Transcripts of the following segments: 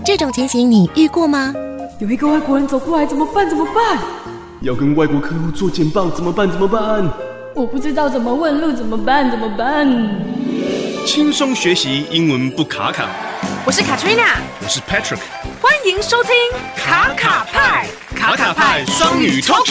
這種情形你遇過嗎？ 有一個外國人走過來，怎麼辦？ 要跟外國客戶做簡報，怎麼辦？ 我不知道怎麼問路，怎麼辦？ 輕鬆學習英文不卡卡。 我是 Katrina， 我是 Patrick， 歡迎收聽卡卡派雙語 Talk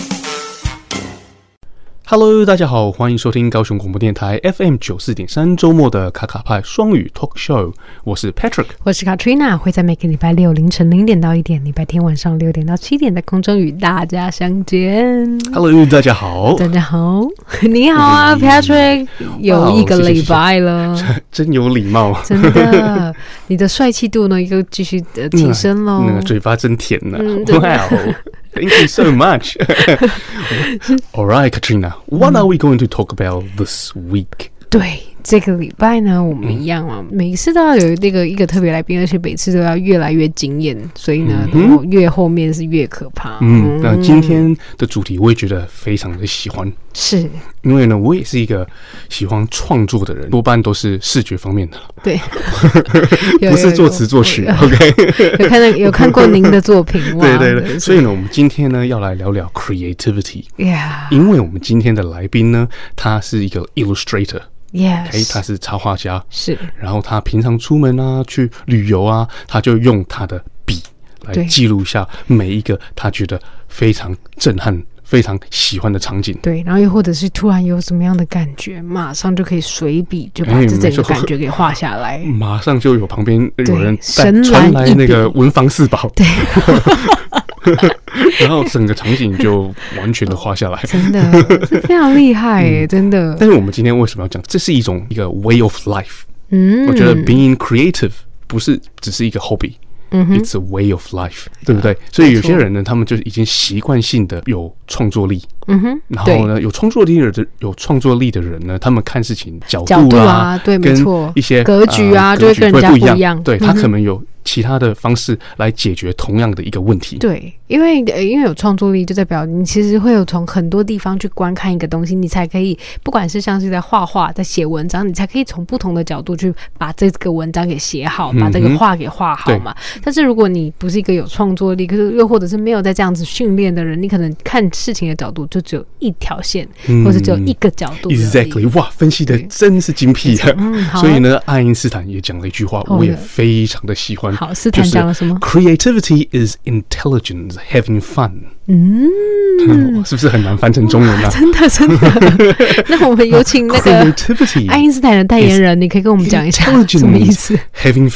Show。Hello， 大家好，歡迎收聽高雄廣播電台 FM94.3 周末的卡卡派雙語 Talk Show。我是 Patrick， 我是 Katrina， 會在每個禮拜六凌晨0點到1點，禮拜天晚上6點到7點在空中與大家相見。 Hello， 大家好， 你好啊，Patrick， 有一個禮拜了， 謝謝，真有禮貌， 真的，你的帥氣度呢又繼續提升咯， 那個嘴巴真甜呢，Wow。Thank you so much. All right, Katrina, what are we going to talk about this week? 對，這個禮拜呢，我們一樣啊，每一次都要有一個特別來賓，而且每次都要越來越驚豔，所以呢，越後面是越可怕。 那今天的主題我也覺得非常的喜歡，是因為呢，我也是一個喜歡創作的人，多半都是視覺方面的，對，不是作詞作曲。OK， 有看過您的作品，對，所以呢，我們今天呢要來聊聊 creativity， 因為我們今天的來賓呢，他是一個 illustrator。Yes， 他是插畫家，是。然後他平常出門啊，去旅遊啊，他就用他的筆來記錄一下每一個他覺得非常震撼、非常喜歡的場景。對，然後又或者是突然有什麼樣的感覺，馬上就可以隨筆就把這整個感覺給畫下來，馬上就有旁邊有人傳來那個文房四寶。對。然後整個場景就完全的畫下來，真的是非常厲害耶，真的。但是我們今天為什麼要講？這是一個 way of life。我覺得 being creative 不是只是一個 hobby。It's a way of life， 對不對？所以有些人呢，他們就已經習慣性的有創作力。然後呢，有創作力的人呢，他們看事情角度啊，對，沒錯，一些格局啊，就会跟人家不一樣。對，他可能有其他的方式來解決同樣的一個問題。对，因為有創作力，就代表你其實會有從很多地方去觀看一個東西，你才可以，不管是像是在畫畫、在寫文章，你才可以從不同的角度去把這個文章給寫好，把這個畫給畫好嘛。但是如果你不是一個有創作力，可是又或者是沒有在這樣子訓練的人，你可能看事情的角度就只有一條線，或者只有一個角度。Exactly， 哇，分析的真是精闢。所以呢，愛因斯坦也講了一句話，我也非常的喜歡。好，斯坦講了什麼？ Creativity is intelligence having fun。是不是很難翻成中文啊？真的。那我們有請那個愛因斯坦的代言人，你可以跟我們講一下什麼意思 ？Having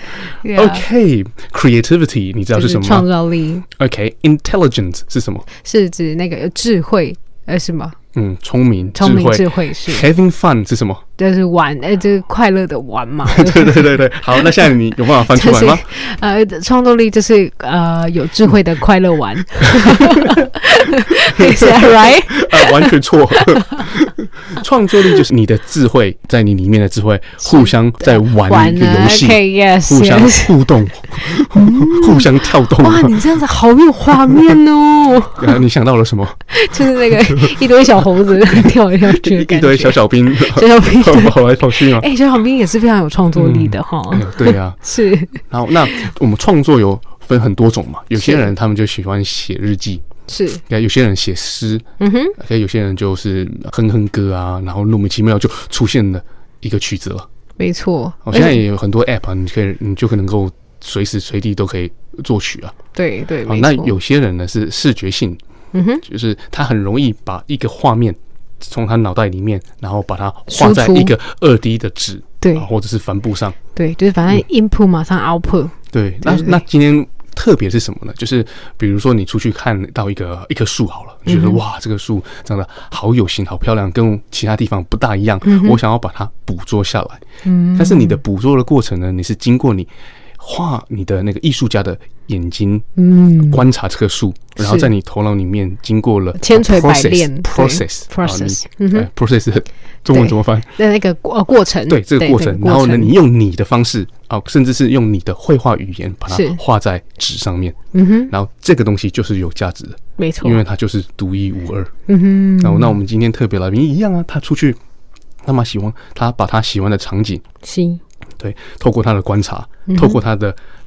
fun。OK，creativity 你知道是什麼嗎？創造力。OK，intelligence 是什麼？是指那個有智慧，什麼？聰明智慧是。Having fun 是什麼？就是玩，就是快樂的玩嘛。對。好，那現在你有辦法翻出來嗎？創作力就是有智慧的快樂玩。Is that right？完全錯。創作力就是你的智慧在你裡面的智慧互相在玩一個遊戲，互相互動，互相跳動。哇，你這樣子好有畫面哦！你想到了什麼？就是那個一堆小猴子跳來跳去的感覺，一堆小兵跑來跑去嘛。小兵也是非常有創作力的哈。對啊，是。然後那我們創作有分很多種嘛，有些人他們就喜歡寫日記。是，有些人寫詩，有些人就是哼歌啊，然後莫名其妙就出現了一個曲子了。沒錯，現在也有很多 app 啊，你就能夠隨時隨地都可以作曲啊。對，那有些人呢是視覺性，就是他很容易把一個畫面從他腦袋裡面，然後把它畫在一個2D 的紙，對，或者是帆布上。对，就是反正 input 馬上 output。对，那今天特別是什麼呢？就是比如說你出去看到一棵樹好了，你覺得哇，這個樹長得好有型、好漂亮，跟其他地方不大一樣，我想要把它捕捉下來。但是你的捕捉的過程呢，你是經過你畫你的那個藝術家的眼睛，觀察這棵樹，然後在你頭腦裡面經過了千錘百煉 process。中文怎麼翻？那個過程，對，這個過程。然後呢，你用你的方式甚至是用你的繪畫語言把它畫在紙上面。然後這個東西就是有價值的，沒錯，因為它就是獨一無二。然後那我們今天特別來賓一樣啊，他出去，他把他喜歡的場景，對，透過他的觀察，透過他的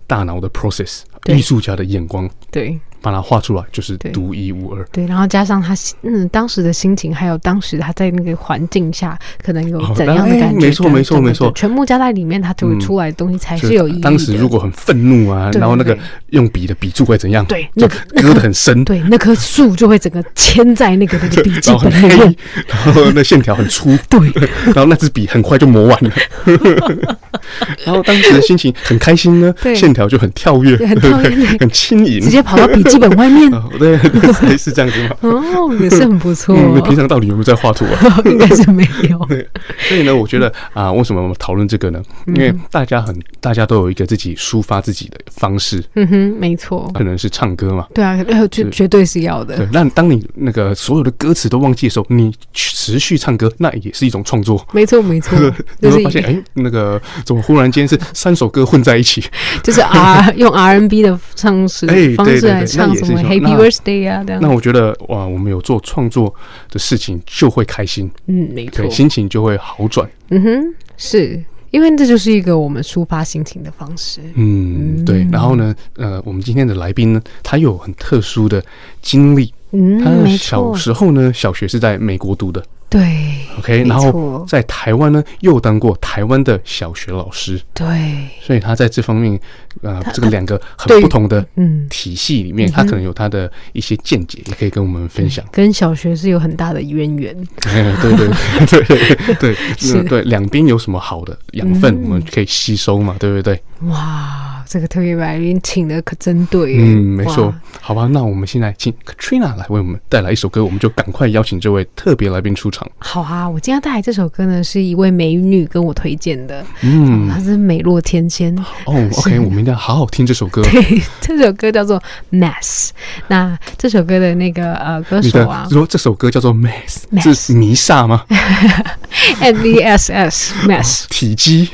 大腦的 process， 藝術家的眼光， 對， 把它畫出來就是獨一無二。 對，然後加上他當時的心情，還有當時他在那個環境下可能有怎樣的感覺， 沒錯， 全部加在裡面，他就會出來的東西才是有意義的。 當時如果很憤怒啊，然後那個用筆的筆觸會怎樣？對， 那割得很深， 對，那棵樹就會整個牽在那個筆記本裡面， 然後那線條很粗，對，然後那支筆很快就磨完了。然後當時的心情很開心呢，線條就很跳躍，很輕盈， 直接跑到筆記本外面。 對，是這樣子嗎？ 哦，也是很不錯。 你平常到底有沒有在畫圖啊？ 應該是沒有。 對，所以呢，我覺得為什麼我們討論這個呢？因為大家都有一個自己抒發自己的方式。嗯哼， 沒錯。 可能是唱歌嘛。对啊， 絕對是要的。 对，那當你那個所有的歌詞都忘記的時候，你持續唱歌，那也是一種創作。沒錯。你會發現，那個怎麼忽然間是3首歌混在一起？就是用 R&B 的方式來唱什麼 Happy Birthday 啊，這樣。 那我覺得哇，我們有做創作的事情就會開心， 沒錯， 心情就會好轉。 嗯哼，是因為這就是一個我們抒發心情的方式。 對。然後呢，我們今天的來賓呢，他有很特殊的經歷。他小時候呢，小學是在美國讀的。對 ，OK， 然後在台灣呢，又當過台灣的小學老師，對，所以他在這方面，這個2個很不同的體系裡面，他可能有他的一些見解，也可以跟我們分享。跟小學是有很大的淵源，對，兩邊有什麼好的養分，我們可以吸收嘛，對不對？哇，這個特別來賓請的可真對，沒錯。好吧，那我們現在請 Katrina 來為我們帶來一首歌，我們就趕快邀請這位特別來賓出場。好啊，我今天帶來這首歌呢，是一位美女跟我推薦的，她是美若天仙。OK， 我們一定要好好聽這首歌。對，這首歌叫做 Mass。那這首歌的那個歌手啊， 說這首歌叫做 Mass， 是彌撒嗎 ？MASS Mass 體積。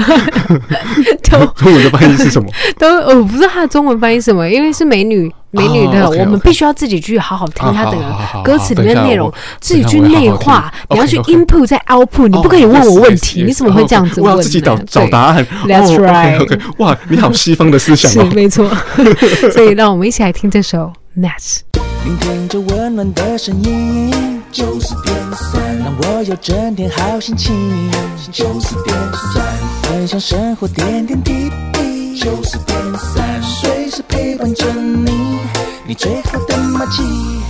中文的翻譯是什麼？ 我不知道它的中文翻譯是什麼，因為是美女的，我們必須要自己去好好聽它的歌詞裡面的內容，自己去內化。你要去 input 再 output， 你不可以問我問題，你怎麼會這樣子問？我要自己找答案。That's right。 哇，你好西方的思想哦。 是没錯。所以讓我們一起來聽這首 Mass。 聆聽着溫暖的聲音，90.3，讓我有整天好心情。90.3，分享生活點點滴滴。90.3，隨時陪伴着你，你最好的默契。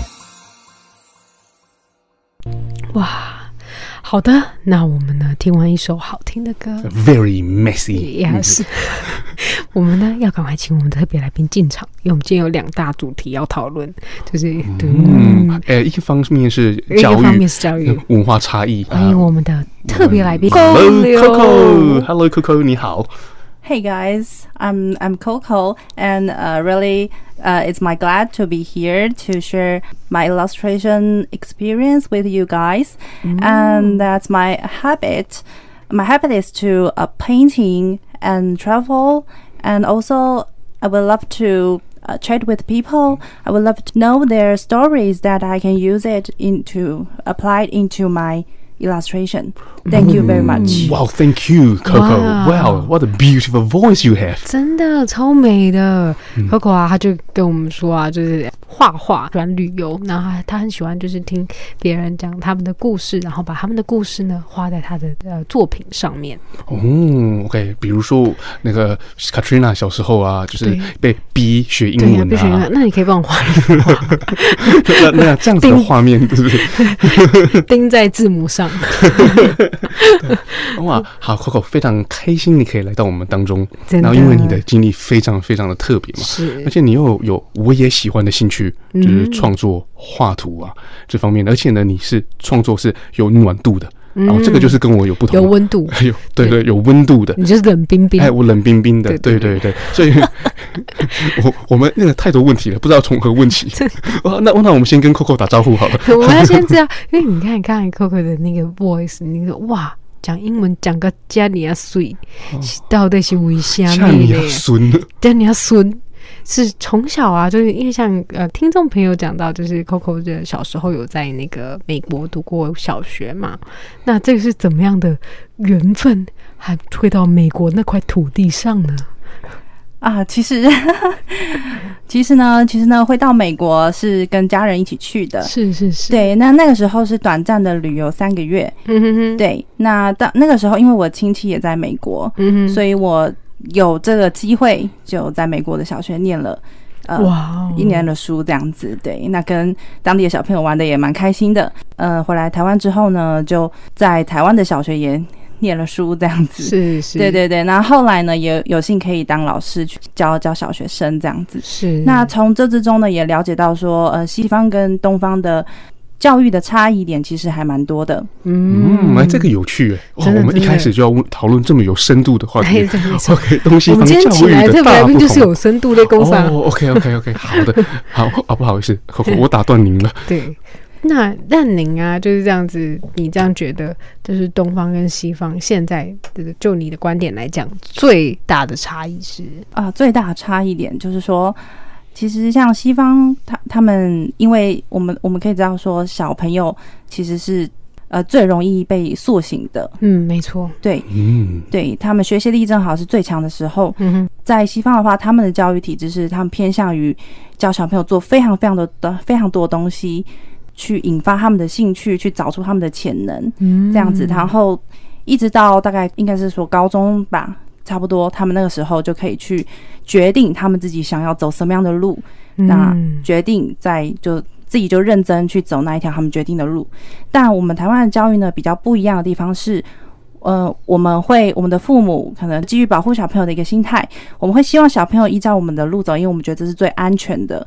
哇，好的，那我們呢聽完一首好聽的歌 ，Very messy，yes， 我們呢要趕快請我們的特別來賓進場，因為我們今天有2大主題要討論，就是一個方面是教育，一個方面是教育文化差異。 歡迎我們的特別來賓 Coco，Hello Coco， 你好。 Hey guys, I'm Coco, and really, it's my glad to be here to share my illustration experience with you guys. And that's my habit. My habit is to painting and travel, and also I would love to chat with people. I would love to know their stories that I can use it apply it into my illustration. Thank you very much. Wow, thank you, Coco. Wow, what a beautiful voice you have. 真的超美的。Coco 啊，他就跟我们說啊，就是畫畫，喜歡旅遊，然後他很喜歡就是聽別人講他們的故事，然後把他們的故事呢畫在他的作品上面。 OK， 比如說那個 Katrina 小時候啊，就是被逼學英文啊。 那你可以幫我畫一幅畫。 那這樣子的畫面，是不是釘在字母上？ 哇，好 Coco， 非常開心你可以來到我們當中，然後因為你的經歷非常非常的特別嘛，是，而且你又有我也喜歡的興趣，就是創作畫圖啊這方面，而且呢，你是創作是有暖度的。然後這個就是跟我有不同，有溫度，對，有溫度的。你就是冷冰冰，我冷冰冰的，對，所以我們那個太多問題了，不知道從何問起。那我們先跟 Coco 打招呼好了。 我們要先這樣，因為你看剛才 Coco 的那個 voice， 那個哇，講英文講個加尼亞水，到底是為什麼？加尼亞孫。是從小啊，就是因為像聽眾朋友講到，就是 Coco 的小時候有在那個美國讀過小學嘛，那這個是怎麼樣的緣分，還會到美國那塊土地上呢啊，其實呢，會到美國是跟家人一起去的。 是。 對，那個時候是短暫的旅遊3個月。對，那到那個時候，因為我親戚也在美國，所以我有這個機會就在美國的小學念了。1年的書這樣子。對，那跟當地的小朋友玩的也蠻開心的。回來台灣之後呢，就在台灣的小學也念了書這樣子。是。對。那後來呢，也有幸可以當老師去教小學生這樣子。是。那從這之中呢，也了解到說，西方跟東方的教育的差異點其實還蠻多的。 這個有趣耶。我們一開始就要討論這麼有深度的話題。OK， 東西方教育的大不同。我們今天請來特別來賓就是有深度的工商。OK， 好的，好，不好意思，我打斷您了。 对。那您啊，就是這樣子，你這樣覺得，就是東方跟西方現在就你的觀點來講，最大的差異是最大的差異點就是說，其實像西方他們，因為我們可以知道說，小朋友其實是最容易被塑形的。 沒錯。對。 对，他們學習力正好是最強的時候。在西方的話，他們的教育體制是他們偏向於教小朋友做非常多東西，去引發他們的興趣，去找出他們的潛能，這樣子，然後一直到大概應該是說高中吧，差不多，他們那個時候就可以去決定他們自己想要走什麼樣的路，那決定自己就認真去走那一條他們決定的路。但我們台灣的教育呢，比較不一樣的地方是，我們的父母可能基於保護小朋友的一個心態，我們會希望小朋友依照我們的路走，因為我們覺得這是最安全的。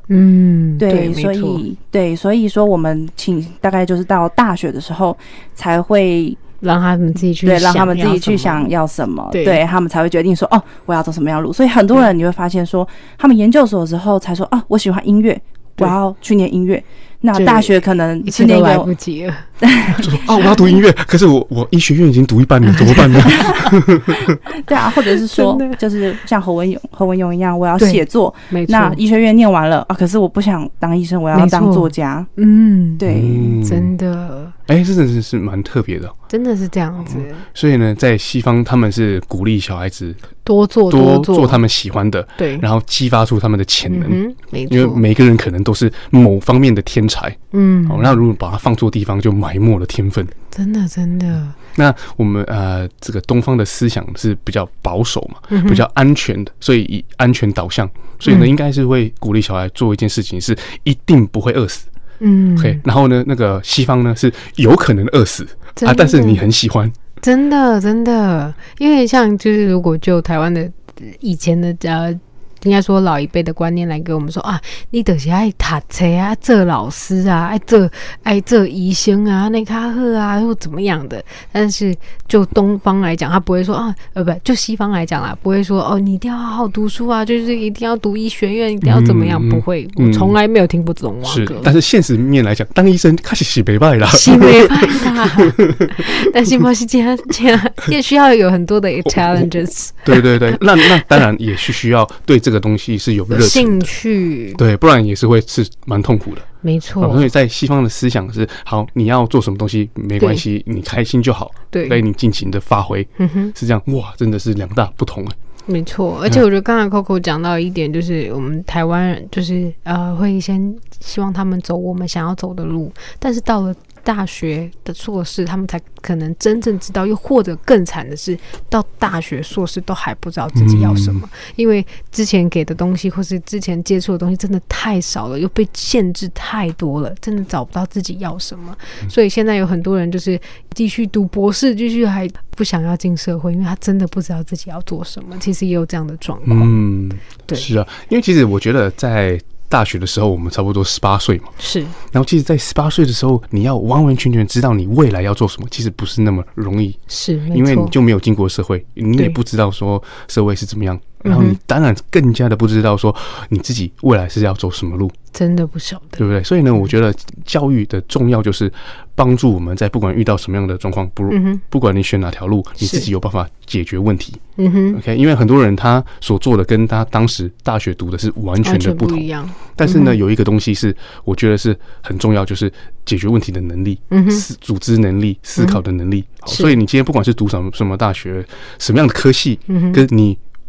对，所以說我們大概就是到大學的時候才會讓他們自己去想要什麼，對，他們才會決定说我要走什麼樣的路。所以很多人你會發現說，他們研究所的時候才說我喜歡音樂，我要去念音樂。那大學可能是那個來不及了， 就說我要讀音樂，可是我醫學院已經讀一半了，怎麼辦呢？ 對啊，或者是說，就是像侯文詠一樣，我要寫作，那醫學院念完了可是我不想當醫生，我要當作家。对， 真的， 真的是蠻特別的， 真的是這樣子。 所以呢，在西方他们是鼓勵小孩子多做他們喜歡的，对，然後激發出他們的潛能。 沒錯， 因為每個人可能都是某方面的天才。那如果把它放錯地方，就埋沒了天分。 真的。 那我們這個東方的思想是比較保守嘛，比較安全的，所以以安全導向，所以呢，應該是會鼓勵小孩做一件事情，是一定不會餓死。OK， 然後呢，那個西方呢是有可能餓死但是你很喜歡。真的，因為像就是如果就台灣的以前的應該說老一輩的觀念來給我們說你就是愛讀書啊，做老師啊，愛做醫生啊，那較好啊，或怎麼樣的。但是就東方來講，他不會說就西方來講啦，不會說你一定要好好讀書啊，就是一定要讀醫學院，一定要怎麼樣，不會，我從來沒有聽過這種話。 是，但是現實面來講，當醫生確實是沒辦法啦， 是沒辦法。但是不是這樣，也需要有很多的 challenges。 對，那當然也是需要對這個東西是有熱情的、興趣，對，不然也是會是蠻痛苦的。沒錯，所以在西方的思想是好，你要做什麼東西沒關係，你開心就好，對，所以你盡情的發揮，是這樣。哇，真的是兩大不同。 沒錯，而且我覺得剛才 Coco 講到一點，就是我們台灣人就是會先希望他們走我們想要走的路，但是到了大學的碩士，他們才可能真正知道，又或者更慘的是，到大學碩士都還不知道自己要什麼，因為之前給的東西或是之前接觸的東西真的太少了，又被限制太多了，真的找不到自己要什麼。所以現在有很多人就是繼續讀博士，繼續還不想要進社會，因為他真的不知道自己要做什麼。其實也有這樣的狀況。 對，是啊，因為其實我覺得在大學的時候，我們差不多18歲嘛，是。然後其實，在18歲的時候，你要完完全全知道你未來要做什麼，其實不是那麼容易，是，因為你就沒有經過社會，你也不知道說社會是怎麼樣，然後你當然更加的不知道說你自己未來是要走什麼路，真的不曉得，對不對？所以呢，我覺得教育的重要就是幫助我們在不管遇到什麼樣的狀況，不管你選哪條路，你自己有辦法解決問題。OK， 因為很多人他所做的跟他當時大學讀的是完全的不同，但是呢，有一個東西是我覺得是很重要，就是解決問題的能力、組織能力、思考的能力。所以你今天不管是讀什麼大學、什麼樣的科系，跟你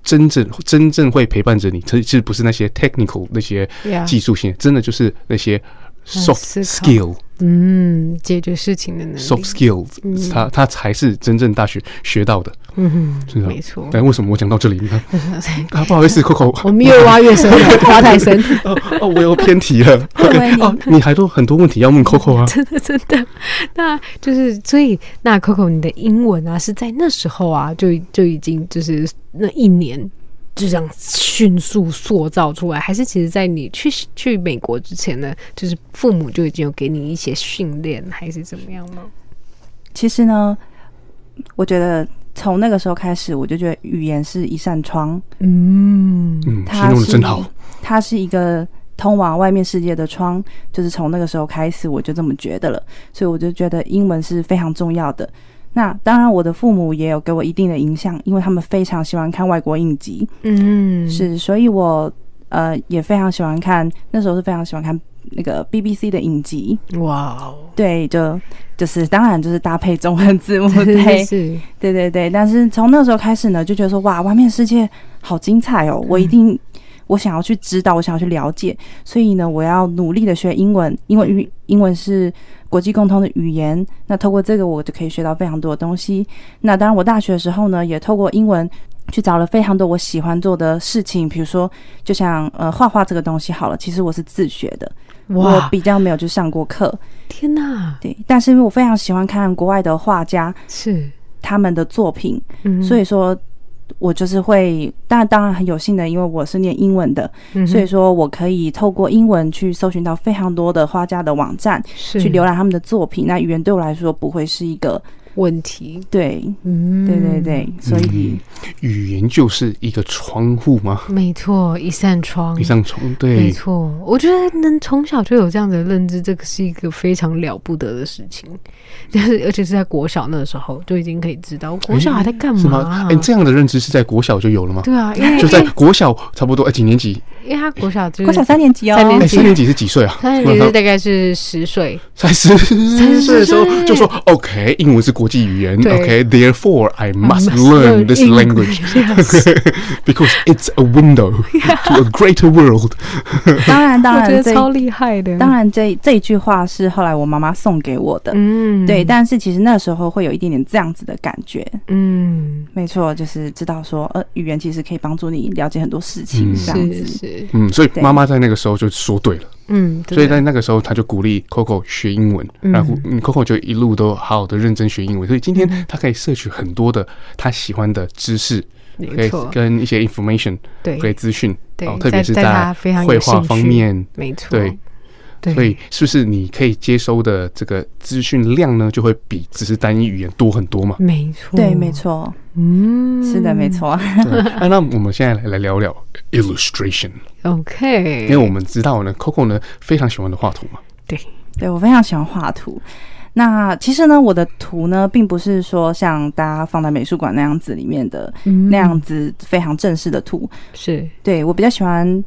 真正會陪伴着你，其實不是那些 technical 那些技術性，真的就是那些 soft skill， 解決事情的能力 ，soft skills， 它才是真正大學學到的。 沒錯。 但為什麼我講到這裡？你看，不好意思 ，Coco， 我們越挖越深了，挖太深。 我又偏題了。你還都很多問題要問 Coco 啊？ 真的。那就是所以，那 Coco 你的英文啊，是在那時候啊，就已經就是那一年。就這樣迅速塑造出來，還是其實在你去美國之前呢，就是父母就已經有給你一些訓練，還是怎麼樣嗎？ 其實呢，我覺得從那個時候開始，我就覺得語言是一扇窗。形容的真好。它是一個通往外面世界的窗，就是從那個時候開始，我就這麼覺得了。所以我就覺得英文是非常重要的。那當然，我的父母也有給我一定的影響，因為他們非常喜歡看外國影集，是，所以我也非常喜歡看，那時候是非常喜歡看那個 BBC 的影集，哇，对，就是当然就是搭配中文字幕，对，但是從那時候開始呢，就覺得說哇，外面世界好精彩哦，我想要去知道，我想要去了解，所以呢，我要努力的學英文，因為英文是國際共通的語言。那透過這個，我就可以學到非常多的東西。那當然，我大學的時候呢，也透過英文去找了非常多我喜歡做的事情，比如說，就像畫畫這個東西好了，其實我是自學的，我比較沒有去上過課。 天哪！ 對，但是因為我非常喜歡看國外的畫家是他們的作品，所以說。我就是會，當然很有幸的，因為我是念英文的，所以說我可以透過英文去搜尋到非常多的畫家的網站，去瀏覽他們的作品。那語言對我來說不會是一個問題， 對，對，所以語言就是一個窗戶嗎？ 沒錯，一扇窗， 對， 沒錯。我覺得能從小就有這樣的認知，這個是一個非常了不得的事情。而且是在國小那個時候就已經可以知道，國小還在幹嘛啊？ 這樣的認知是在國小就有了嗎？ 對啊，因為就在國小差不多幾年級？ 因為他國小就是國小3年級哦 ，3年級是幾歲啊 ？3年級是大概是10歲， 才10歲的時候就說 OK， 英文是國際語言 ，OK，therefore I must learn this language because it's a window to a greater world。 當然， 我覺得超厲害的。 當然，這一句話是後來我媽媽送給我的，對，但是其實那時候會有一點點這樣子的感覺，沒錯，就是知道說，語言其實可以幫助你了解很多事情，這樣子。 所以媽媽在那個時候就說對了，所以在那個時候她就鼓勵 Coco 學英文，然後 Coco 就一路都好好的認真學英文，所以今天她可以攝取很多的她喜歡的知識，可以跟一些 information， 可以資訊，特別是在繪畫方面， 沒錯， 對。所以是不是你可以接收的這個資訊量呢，就會比只是單一語言多很多嘛？ 沒錯， 對，沒錯，是的，沒錯。 那我們現在來聊聊 illustration。OK， 因為我們知道呢 ，Coco 呢非常喜歡的畫圖嘛。 對，我非常喜歡畫圖。那其實呢，我的圖呢，並不是說像大家放在美術館那樣子裡面的那樣子非常正式的圖。 是， 對，我比較喜歡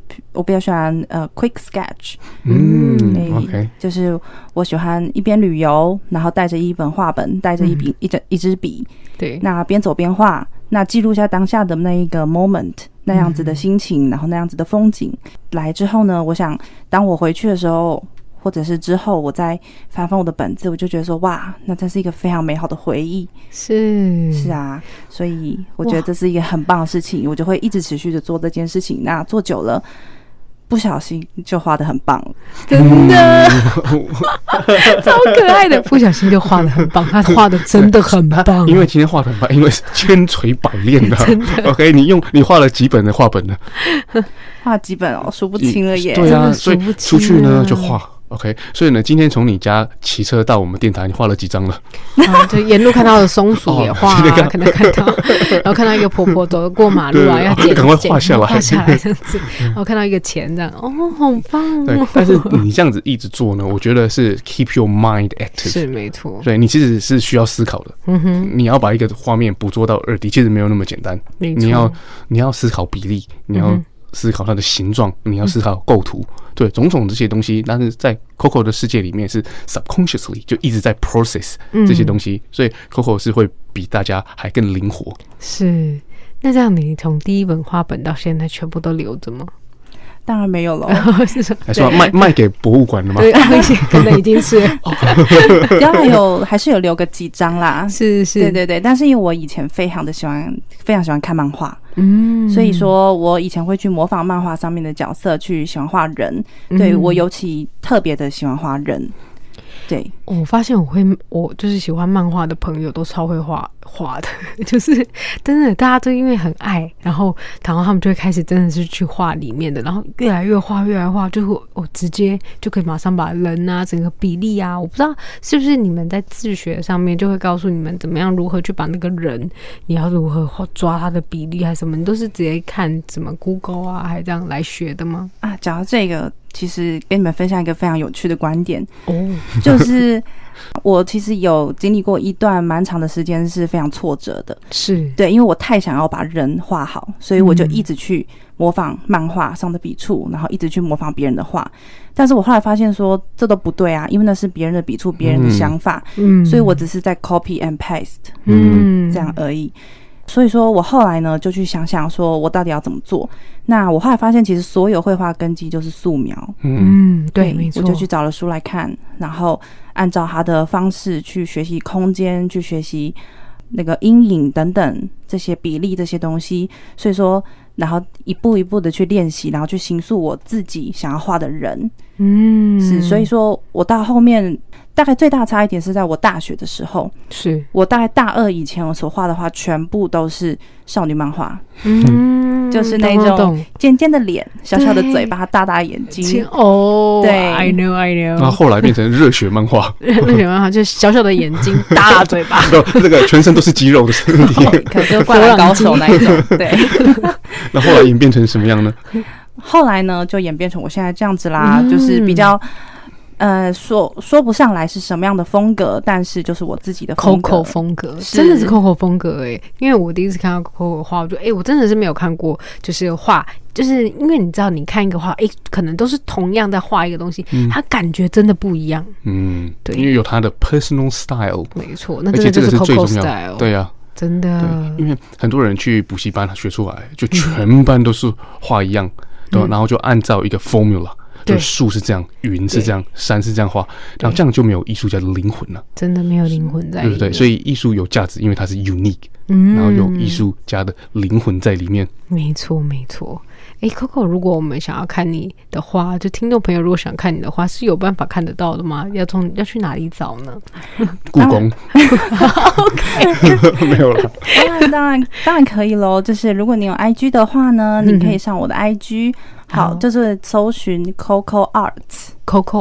quick sketch， OK， 就是我喜歡一邊旅遊，然後帶着一本畫本，帶着一支筆， 對， 那邊走邊畫，那記錄一下當下的那一個 moment， 那樣子的心情，然後那樣子的風景。來之後呢，我想當我回去的時候，或者是之後我再翻翻我的本子，我就覺得說哇，那這是一個非常美好的回憶。是啊，所以我覺得這是一個很棒的事情，我就會一直持續的做這件事情。那做久了，不小心就畫得很棒了， 真的超可愛的，不小心就畫得很棒，他畫的真的很棒。 因為今天畫得很棒，因為千錘百煉的。 真的 OK， 你畫了幾本的畫本呢？ 畫幾本哦，數不清了耶。 對啊，所以出去呢就畫。OK， 所以呢，今天從你家騎車到我們電台，你畫了幾張了？ 就沿路看到的松鼠也畫，可能看到，然後看到一個婆婆走過馬路啊，要趕快畫下來這樣子。然後看到一個錢這樣，好棒。 對，但是你這樣子一直做呢，我覺得是 keep your mind active， 是沒錯。 對，你其實是需要思考的。你要把一個畫面捕捉到2D，其實沒有那麼簡單。你要思考比例，你要思考它的形狀，你要思考構圖。對，種種這些東西，但是在 Coco 的世界裡面是 subconsciously 就一直在 process 這些東西，所以 Coco 是會比大家還更靈活。 是， 那這樣你從第一本畫本到現在全部都留着嗎？ 當然沒有了， 還是賣給博物館了嗎？ 對，可能已經是， 當然還是有留個幾張啦。 是， 对。但是因為我以前非常喜歡看漫畫，所以說我以前會去模仿漫畫上面的角色，去喜歡畫人。對，我尤其特別的喜歡畫人。对， 我發現我就是喜歡漫畫的朋友都超會畫的，就是真的大家都因為很愛，然後他們就會開始真的是去畫裡面的，然後越來越畫，就是我直接就可以馬上把人啊整個比例啊，我不知道是不是你們在自學上面就會告訴你們怎麼樣如何去把那個人你要如何抓他的比例還是什麼，你都是直接看怎麼 Google 啊還這樣來學的嗎？ 啊，講到這個。其實跟你們分享一個非常有趣的觀點就是我其實有經歷過一段蠻長的時間是非常挫折的， 是對，因為我太想要把人畫好，所以我就一直去模仿漫畫上的筆觸，然後一直去模仿別人的畫，但是我後來發現說這都不對啊，因為那是別人的筆觸，別人的想法，所以我只是在 copy and paste，這樣而已。所以說我後來呢就去想想說我到底要怎麼做。那我後來發現其實所有繪畫根基就是素描， 对，沒錯， 我就去找了書來看，然後按照他的方式去學習空間，去學習那個陰影等等這些比例這些東西。所以說然後一步一步的去練習，然後去形塑我自己想要畫的人。是，所以說我到後面大概最大差一點是在我大學的時候，是我大概大二以前我所畫的畫全部都是少女漫畫，就是那種尖尖的臉、小小的嘴巴、大大眼睛。哦，对 ，I know。 然後後來變成熱血漫畫， 热血漫畫就是小小的眼睛、大大嘴巴， 这個全身都是肌肉的身體， 可能就是灌籃高手那一種。對。 那後來演變成什麼樣呢？ 後來呢，就演變成我現在這樣子啦，就是比較說不上來是什麼樣的風格，但是就是我自己的風格。 Coco 風格真的是 Coco 風格因為我第一次看到 Coco 畫，我就我真的是沒有看過，就是畫，就是因為你知道，你看一個畫，可能都是同樣在畫一個東西，它感覺真的不一樣。對， 因為有它的 personal style， 沒錯，那真的就是 Coco style。 對啊。 真的， 因為很多人去補習班學出來，就全班都是畫一樣，然後就按照一個 formula，就樹是這樣，雲是這樣，山是這樣畫，然後這樣就沒有藝術家的靈魂了。真的沒有靈魂在裡面， 對不對？所以藝術有價值，因為它是 unique，然後有藝術家的靈魂在裡面。 沒錯，沒錯。Coco， 如果我們想要看你的畫，就聽眾朋友如果想看你的畫，是有辦法看得到的嗎？要去哪裡找呢？ 故宮。OK， 沒有了。 當然可以咯。就是如果你有 IG 的話呢，你可以上我的 IG，好，就是搜尋 Coco Arts，Coco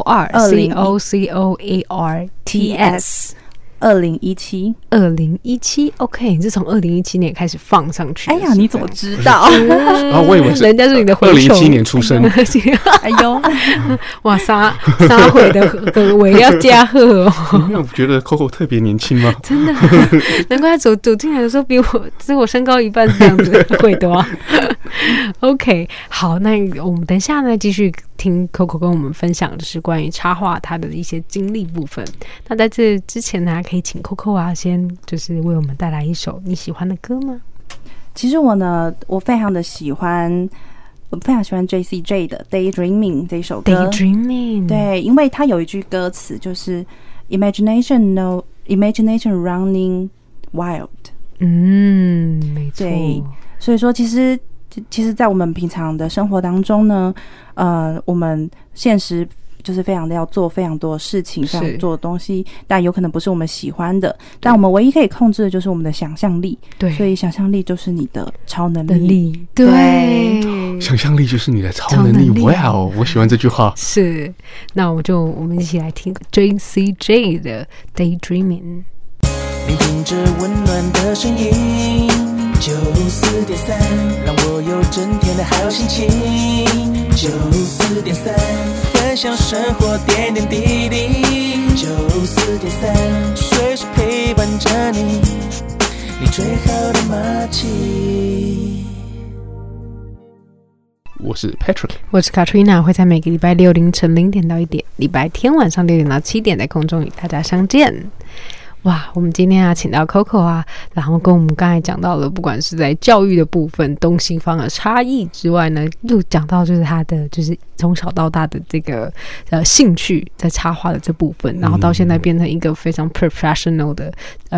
Arts，COCOARTS。2017 OK， 你是從2017年開始放上去。哎呀， 你怎麼知道？ 我以為是人家是你的蛔蟲。 2017年出生。 哎呦， 哇，撒回的尾要加賀哦。 你沒有覺得 Coco 特別年輕嗎？ 真的，難怪他走進來的時候比我身高一半是這樣子會的啊。OK， 好，那我們等一下呢繼續聽 Coco 跟我們分享，就是關於插畫他的一些經歷部分。那在這之前呢，可以請 Coco 啊，先就是為我們帶來一首你喜歡的歌嗎？ 其實我非常喜歡 JCJ 的 Daydreaming 這一首歌。 Daydreaming， 對， 因為它有一句歌詞就是 Imagination running wild。 沒錯。 對，所以說其實在我們平常的生活當中呢，我們現實就是非常的要做非常多的事情，非常做的東西，但有可能不是我們喜歡的，但我們唯一可以控制的就是我们的想象力。对，所以想象力就是你的超能力。对， 想象力就是你的超能力。哇，我喜歡這句話。 是，那我們一起來聽 JCJ 的 Daydreaming。 聆聽着溫暖的聲音，94.3，讓我有整天的好心情。94.3，分享生活點點滴滴。94.3，隨時陪伴着你，你最好的默契。 我是 Patrick， 我是 Katrina， 會在每個禮拜六凌晨0點到1點，禮拜天晚上6點到7點在空中與大家相見。 哇，我們今天請到 Coco 啊，然後跟我們剛才講到了，不管是在教育的部分東西方的差異之外呢，又講到就是他的就是從小到大的這個興趣在插畫的這部分，然後到現在變成一個非常 professional 的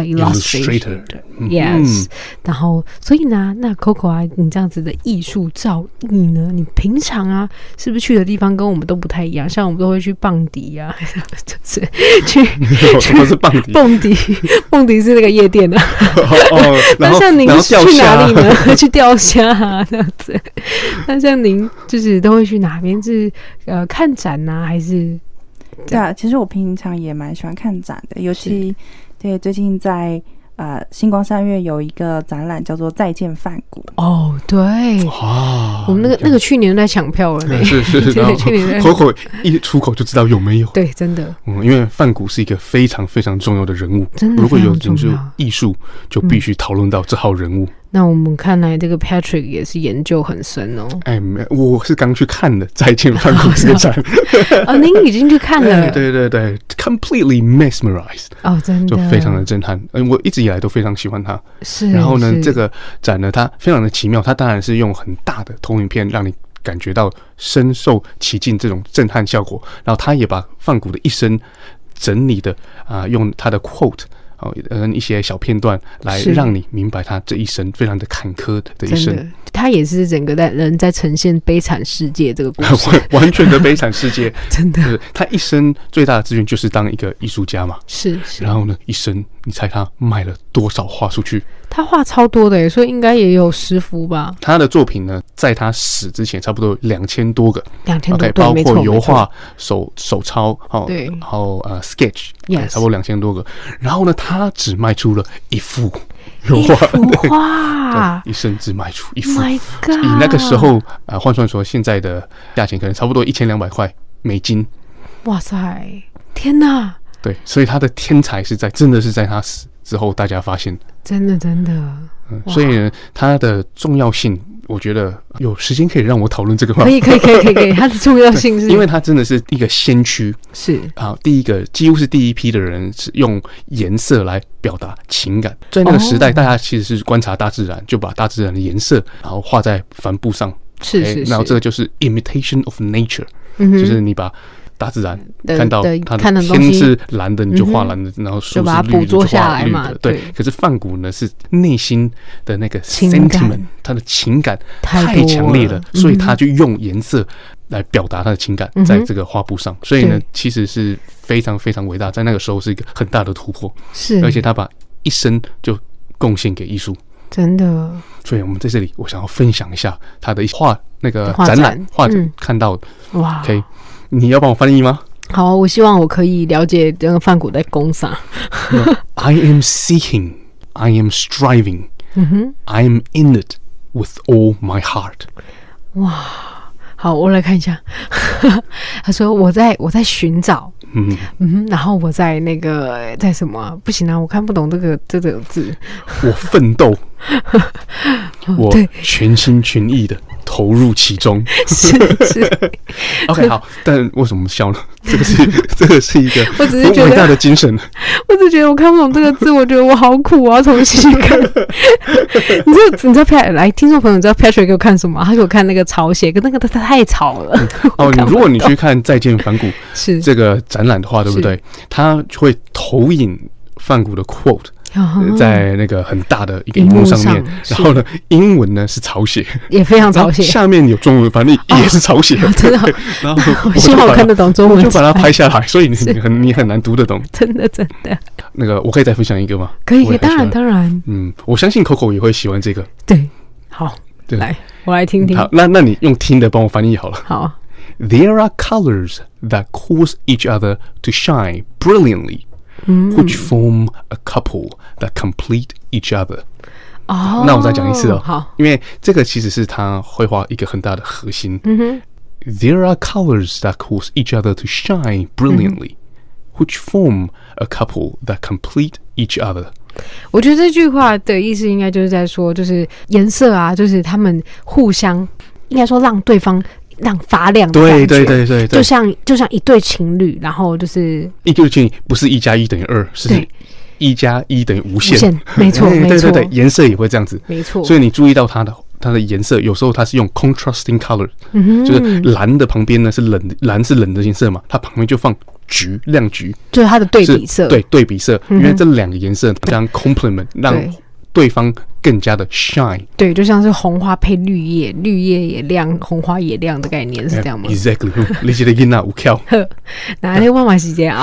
illustrator。Yes，然後所以呢，那 Coco 啊，你這樣子的藝術造詣呢，你平常啊是不是去的地方跟我們都不太一樣？像我們都會去蹦迪啊，就是去是蹦迪。 蹦迪是那個夜店啊。那像您去哪裡呢？去釣蝦啊，這樣子。那像您就是都會去哪邊？是看展啊，還是？ 對啊，其實我平常也蠻喜歡看展的，尤其對最近在星光三月有一個展覽叫做《再見梵谷》。哦，對，我們那個去年都在搶票了呢。 是，去年Coco一出口就知道有沒有。 對，真的。 因為梵谷是一個非常非常重要的人物， 真的。 如果有研究藝術，就必須討論到這號人物。 那我們看來這個 Patrick 也是研究很深哦。 我是剛去看的《再見梵谷》這個展。 您已經去看了？ 對 ，completely mesmerized。 真的， 就非常的震撼。我一直以來都非常喜歡他。 是。 然後呢，這個展呢，它非常的奇妙。它当然是用很大的投影片，讓你感覺到深受其境這種震撼效果。然後他也把梵谷的一生整理的用他的 quote。一些小片段來讓你明白他這一生非常的坎坷的一生。 他也是整個人在呈現悲慘世界這個故事， 完全的悲慘世界。 真的， 他一生最大的志願就是當一個藝術家嘛。 是。 然後呢，一生你猜他賣了多少畫出去？ 他畫超多的耶，所以應該也有10幅吧。 他的作品呢，在他死之前差不多2000多個 ，2000多， 包括油畫、手抄， 对， 然後sketch， 差不多2000多個。然後呢，他只賣出了1幅油畫，一生只賣出1幅。 My God！ 以那個時候換算說，現在的價錢可能差不多1200塊美金。 哇塞，天哪！ 對，所以他的天才真的是在他死之後大家發現。 真的。 所以呢，它的重要性，我覺得有時間可以讓我討論這個話。 可以，它的重要性是， 因為它真的是一個先驅， 是幾乎是第一批的人是用顏色來表達情感。在那個時代，大家其實是觀察大自然，就把大自然的顏色然後畫在帆布上， 是， 然後這個就是 imitation of nature，就是你把大自然看到它的天是藍的，你就畫藍的，然後樹是綠的，就畫綠的。對，可是梵谷呢，是內心的那個 sentiment， 他的情感太強烈了，所以他就用顏色來表達他的情感在這個畫布上。所以呢，其實是非常非常偉大，在那個時候是一個很大的突破。 是， 而且他把一生就貢獻給藝術。 真的。 所以我們在這裡，我想要分享一下他的那個展覽畫展看到的。哇 ，OK。你要幫我翻譯嗎？ 好，我希望我可以了解這個梵谷在講啥。 I am seeking, I am striving, I am in it with all my heart。 哇，好，我来看一下。他說我在尋找，然後我在在什麼？不行啊，我看不懂這個字。 我奮鬥，我全心全意的投入其中。 是。 OK， 好，但為什麼笑呢？這個是一個很偉大的精神。 我只覺得我看不懂這個字，我覺得我好苦，我要重新看。你知道 Pat 來，聽眾朋友，你知道 Patrick 給我看什麼？他給我看那個草寫，跟那個他太吵了。 如果你去看《再見梵谷》這個展覽的話，對不對？他會投影梵谷的 quote。在那個很大的一個熒幕上面，然後呢，英文呢是草寫， 也非常草寫， 下面有中文翻譯，也是草寫， 真的。然後我希望我看得懂中文， 就把它拍下來，所以你很難讀得懂， 真的。 那個我可以再分享一個嗎？ 可以，當然。 我相信 Coco 也會喜歡這個。 對，好，來，我來聽聽。 好，那你用聽的幫我翻譯好了。 好。 There are colors that cause each other to shine brilliantly.Which form a couple that complete each other。那我再講一次哦。好，因為這個其實是他繪畫一個很大的核心。There are colors that cause each other to shine brilliantly, which form a couple that complete each other。 我覺得這句話的意思應該就是在說，就是顏色啊，就是他們互相，應該說讓對方。讓發亮的感覺，對，就像一對情侶，然後就是一對情侶不是1+1等於2，是 1+1等於無限， 沒錯，沒錯， 對，顏色也會這樣子， 沒錯。 所以你注意到它的顏色，有時候它是用 contrasting color，就是藍的旁邊呢是藍是冷的顏色嘛，它旁邊就放橘，亮橘， 就是它的对比色， 对，对比色，因为這兩個顏色非常 complement， 讓對方更加的 shine， 對，就像是紅花配綠葉，綠葉也亮，紅花也亮的概念是這樣嗎 ？Exactly， 你這個囡仔有巧， 哪裡我嘛是一個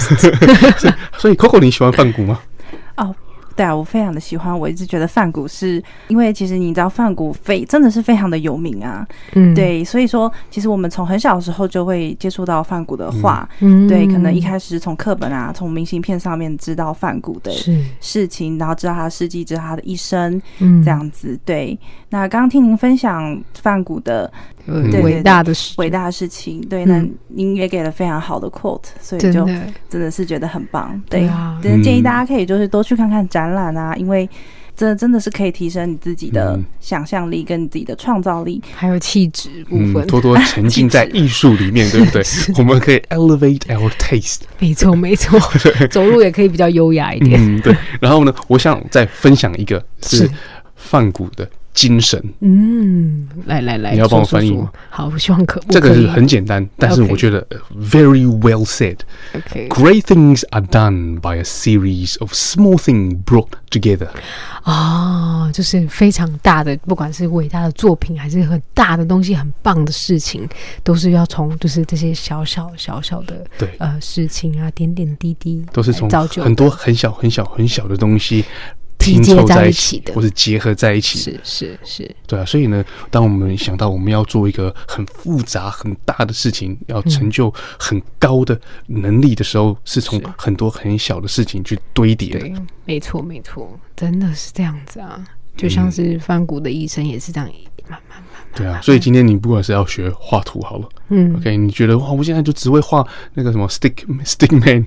artist， 所以 Coco 你喜歡梵谷嗎？ 哦。對啊，我非常的喜歡。我一直覺得梵谷是因為其實你知道梵谷真的是非常的有名啊，對，所以說其實我們從很小的時候就會接觸到梵谷的畫，對，可能一開始從課本啊，從明信片上面知道梵谷的事情，然後知道他的事跡，知道他的一生，這樣子。對，那剛剛聽您分享梵谷的偉大的事情，對，那您也給了非常好的 quote， 所以就真的是覺得很棒。對啊，真的建議大家可以就是多去看看展覽啊，因為這真的是可以提升你自己的想象力跟你自己的創造力， 還有氣質部分， 多多沉浸在藝術裡面，對不對？我們可以 elevate our taste。沒錯，沒錯，走路也可以比較優雅一點。 對。然後呢，我想再分享一個是梵谷的精神， 來， 你要幫我翻譯嗎？ 好，我希望可。 這個是很簡單，但是我覺得 very well said。Great things are done by a series of small things brought together。 就是非常大的，不管是偉大的作品，還是很大的東西，很棒的事情，都是要從就是這些小小的事情啊，點點滴滴， 都是從很多很小的東西。 拼湊在一起的， 或是結合在一起， 是， 對啊。所以呢，當我們想到我們要做一個很複雜、很大的事情，要成就很高的能力的時候，是從很多很小的事情去堆疊的。 對，沒錯，真的是這樣子啊。就像是梵谷的一生也是這樣，慢慢。 對啊，所以今天你不管是要學畫圖好了，OK， 你覺得哇，我現在就只會畫那個什麼 stick man，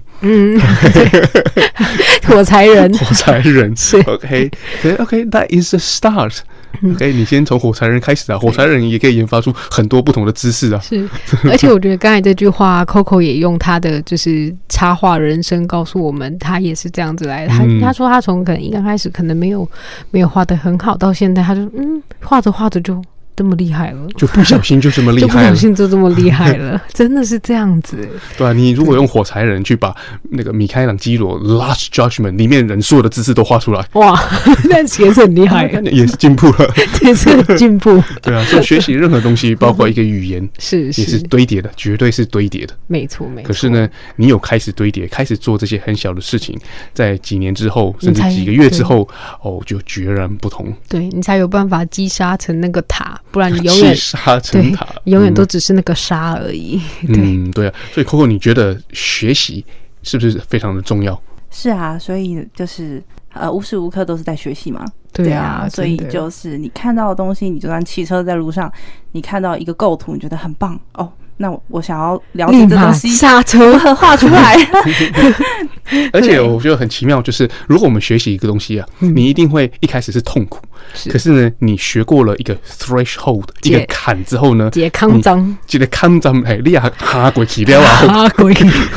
火柴人是 OK，that is a start。OK， 你先從火柴人開始啊，火柴人也可以研發出很多不同的姿勢啊。是， 而且我覺得剛才這句話，Coco 也用他的就是插畫人生告訴我們，他也是這樣子來的。他說他從可能一剛開始可能沒有畫得很好，到現在他就畫着畫着就這麼厲害了， 就不小心就這麼厲害了， 就不小心就這麼厲害了，真的是這樣子。 對啊，你如果用火柴人去把那個米開朗基羅 Last Judgment 裡面人所有的姿勢都畫出來，哇，那也是很厲害，也是進步了， 也是很進步。 對啊，所以學習任何東西，包括一個語言，也是堆疊的，絕對是堆疊的。 沒錯。 可是呢，你有開始堆疊，開始做這些很小的事情，在幾年之後，甚至幾個月之後，就決然不同。 對，你才有辦法擊殺成那個塔。不然你永遠沙成塔， 永遠都只是那個沙而已。 對啊，所以 Coco， 你覺得學習是不是非常的重要？ 是啊，所以就是無時無刻都是在學習嘛。 對啊， 所以就是你看到的東西，你就算騎車在路上，你看到一個構圖，你覺得很棒哦。那我想要了解這東西， 剎車畫出來。 而且我覺得很奇妙，就是如果我們學習一個東西啊，你一定會一開始是痛苦，可是呢，你學過了一個 threshold 一個坎之後呢， 解康章， 記得康章，你也哈鬼起了啊，哈鬼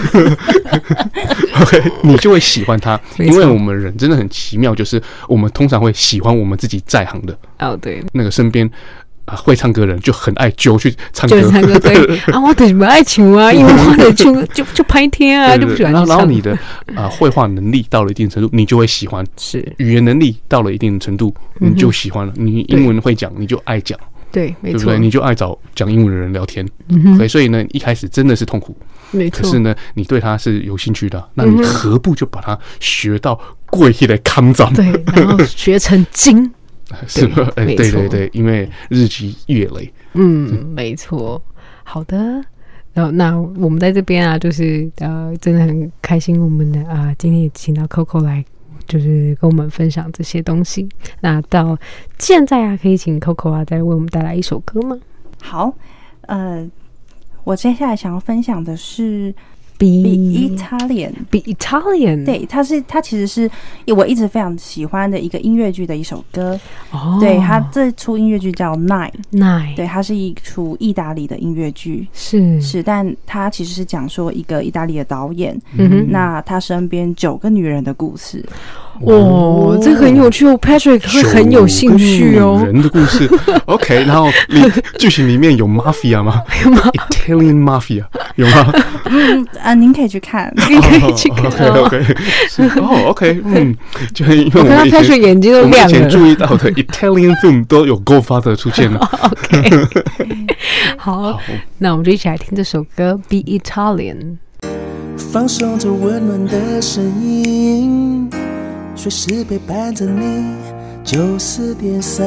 ，OK， 你就會喜歡它，因為我們人真的很奇妙，就是我們通常會喜歡我們自己在行的， 對， 那個身邊。會唱歌的人就很愛揪去唱歌， 對啊，我就是不愛唱啊，因為我的唱就拍天啊，就不喜歡唱。 然後你的繪畫能力到了一定程度，你就會喜歡；是語言能力到了一定程度，你就喜歡了。你英文會講，你就愛講， 對，沒錯， 對不對？你就愛找講英文的人聊天。所以呢，一開始真的是痛苦，沒錯。可是呢，你對他是有興趣的，那你何不就把它學到過去的康章？對， 然後學成精。 是吧？對，因為日積月累。 沒錯。好的，那我們在這邊啊，就是真的很開心，我們的今天也請到 Coco 來，就是跟我們分享這些東西。那到現在啊，可以請 Coco 啊，再為我們帶來一首歌嗎？ 好，我接下來想要分享的是 Be Italian。对，它其實是我一直非常喜歡的一個音樂劇的一首歌。對，它這出音樂劇叫 Nine。對，它是一出意大利的音樂劇。是，但它其實是講說一個意大利的導演，那他身邊9個女人的故事。 哇，這個很有趣哦 ，Patrick 會很有興趣哦。 人的故事 ，OK， 然後劇情裡面有 mafia 嗎？Italian mafia 有嗎？ 您可以去看， 您可以去看。 OK， OK， 就是因為我們 Patrick眼睛都亮了。 以前注意到的 Italian film 都有 Godfather 出現了。 OK， 好，那我們就一起來聽這首歌《Be Italian》。 放鬆着溫暖的聲音，隨時陪伴着你，90.3，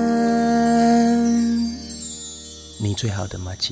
你最好的麻吉。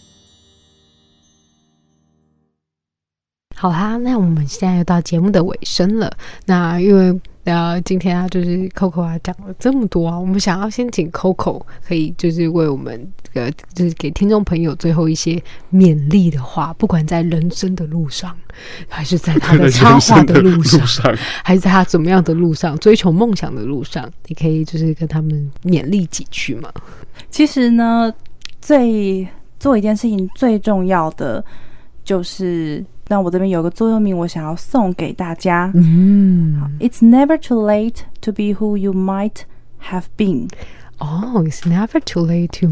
好啦，那我們現在又到節目的尾聲了。那因為今天就是 Coco 講了這麼多啊，我們想要先請 Coco 可以就是為我們就是給聽眾朋友最後一些勉勵的話，不管在人生的路上，還是在他的插畫的路上，還是在他怎麼樣的路上，追求夢想的路上，你可以就是跟他們勉勵幾句嗎？ 其實呢，做一件事情最重要的就是。那我這邊有個座右銘，我想要送給大家。It's never too late to be who you might have been. It's never too late to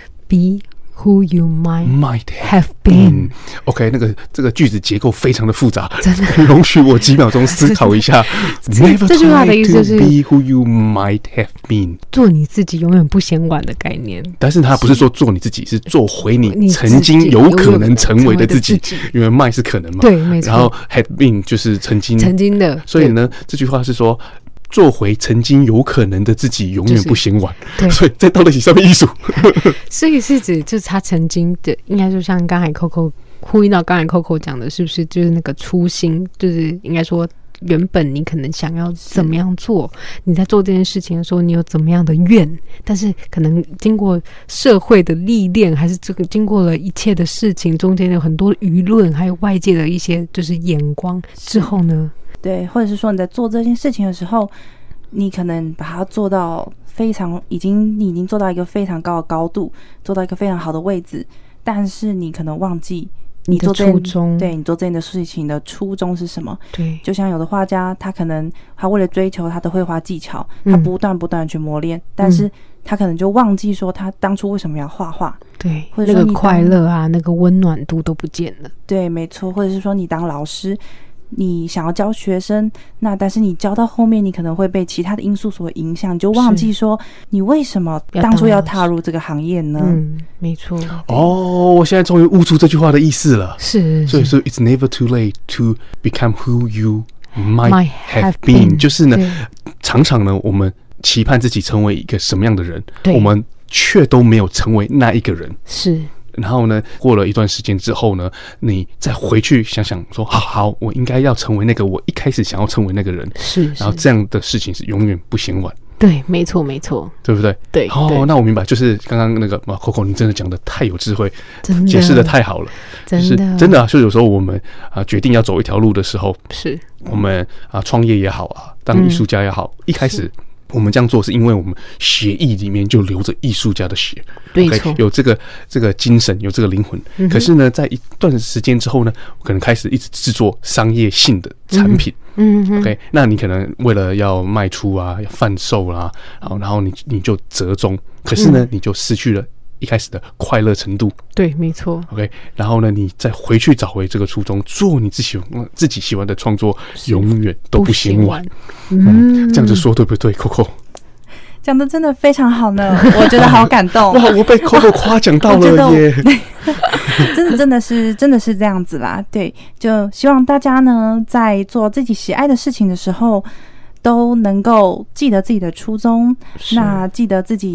be who you might have been. OK， 这個句子結構非常的複雜， 真的。 容許我幾秒鐘思考一下。Never 這句話的意思就是 be who you might have been， 做你自己永遠不嫌晚的概念。 但是它不是說做你自己，是做回你曾經有可能成為的自己。因為 might 是可能嘛， 對，沒錯。 然後 have been 就是曾經的， 所以呢，這句話是說。做回曾經有可能的自己，永遠不嫌晚。對，所以在道德體上面藝術， 所以是指就是他曾經的，應該就像剛才 Coco 呼應到剛才 Coco 講的，是不是就是那個初心？就是應該說，原本你可能想要怎麼樣做，你在做這件事情的時候，你有怎麼樣的願，但是可能經過社會的歷練，還是這個經過了一切的事情，中間有很多輿論，還有外界的一些就是眼光之後呢？ 對，或者是說你在做這件事情的時候，你可能把它做到你已經做到一個非常高的高度，做到一個非常好的位置，但是你可能忘記你做這初衷， 對，你做這件的事情的初衷是什麼？ 對， 就像有的畫家，他可能他為了追求他的繪畫技巧，他不斷的去磨練，但是他可能就忘記說他當初為什麼要畫畫， 對， 或者說那個快樂啊，那個溫暖度都不見了。 對，沒錯，或者是說你當老師。你想要教學生，那但是你教到後面，你可能會被其他的因素所影響，你就忘記說你為什麼當初要踏入這個行業呢？ 沒錯。 我現在終於悟出這句話的意思了。 是， 所以說 It's never too late to become who you might have been。就是呢，常常呢，我們期盼自己成為一個什麼樣的人，我們卻都沒有成為那一個人。 是。 然後呢，過了一段時間之後呢，你再回去想想說，好，我應該要成為那個我一開始想要成為那個人。是。然後這樣的事情是永遠不嫌晚。 對，沒錯，沒錯， 對不對？ 對。 那我明白，就是剛剛那個Coco，你真的講的太有智慧， 真的解釋的太好了， 真的， 真的啊！就有時候我們決定要走一條路的時候， 是我們創業也好啊，當藝術家也好，一開始。我們這樣做是因為我們血液裡面就流着藝術家的血， 對，okay， 有這個精神，有這個靈魂。可是呢，在一段時間之後呢，可能開始一直制作商業性的產品。OK， 那你可能為了要賣出啊，要販售啦，然後你就折中，可是呢，你就失去了一開始的快樂程度。 對，沒錯。 OK， 然後呢，你再回去找回這個初衷，做你自己喜歡的創作，永遠都不嫌晚。這樣子說對不對 ，Coco？ 講的真的非常好呢，我覺得好感動。 哇，我被 Coco 誇獎到了耶！ 真的是這樣子啦。對，就希望大家呢，在做自己喜愛的事情的時候，都能夠記得自己的初衷，那記得自己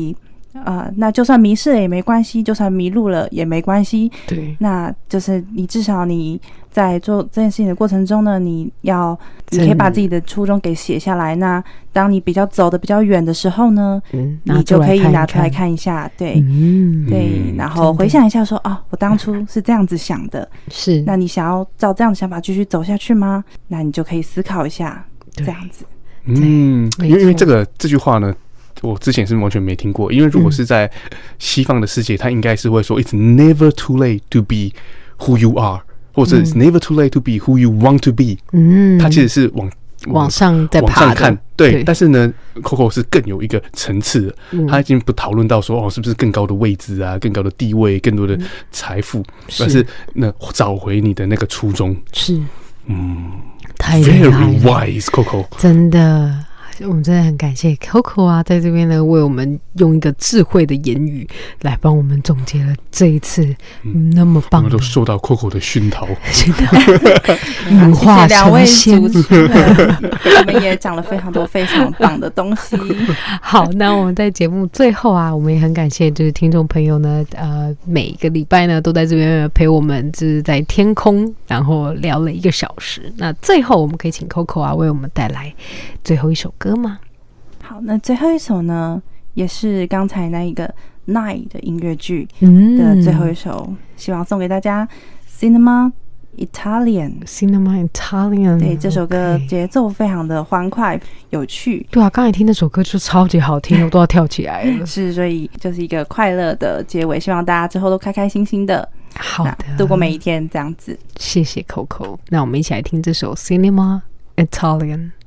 那就算迷失了也沒關係，就算迷路了也沒關係。 對， 那就是你至少你在做這件事情的過程中呢，你可以把自己的初衷給寫下來。那當你比較走的比較遠的時候呢，你就可以拿出來看一下，對，对，然後回想一下說，我當初是這樣子想的，是，那你想要照這樣的想法繼續走下去嗎？那你就可以思考一下，這樣子。 因為這句話呢，我之前是完全沒聽過。因為如果是在西方的世界，他應該是會說 "It's never too late to be who you are"， 或者 "It's never too late to be who you want to be"。他其實是往上在爬的，往上看，对。但是呢 ，Coco 是更有一個層次的，他已經不討論到說是不是更高的位置啊、更高的地位、更多的財富，而是找回你的那個初衷。是，太厲害了 ，Very wise Coco， 真的。 我們真的很感謝 Coco 啊，在這邊呢為我們用一個智慧的言語來幫我們總結了這一次那麼棒的。 我們都受到 Coco 的熏陶， 羽化成仙。 我們也講了非常多非常棒的東西。 好，那我們在節目最後啊，我們也很感謝就是聽眾朋友呢，每一個禮拜呢都在這邊陪我們，就是在天空，然後聊了1個小時。那最後我們可以請 Coco 啊為我們帶來最後一首歌嗎？ 好，那最後一首呢，也是剛才那一個 Nine 的音樂劇的最後一首，希望送給大家 Cinema Italian。 对，這首歌節奏非常的歡快有趣。 對啊，剛才聽那首歌就超級好聽，我都要跳起來了。 是，所以就是一個快樂的結尾，希望大家之後都開開心心的， 好的， 度過每一天這樣子。 謝謝 Coco， 那我們一起來聽這首 Cinema Italian。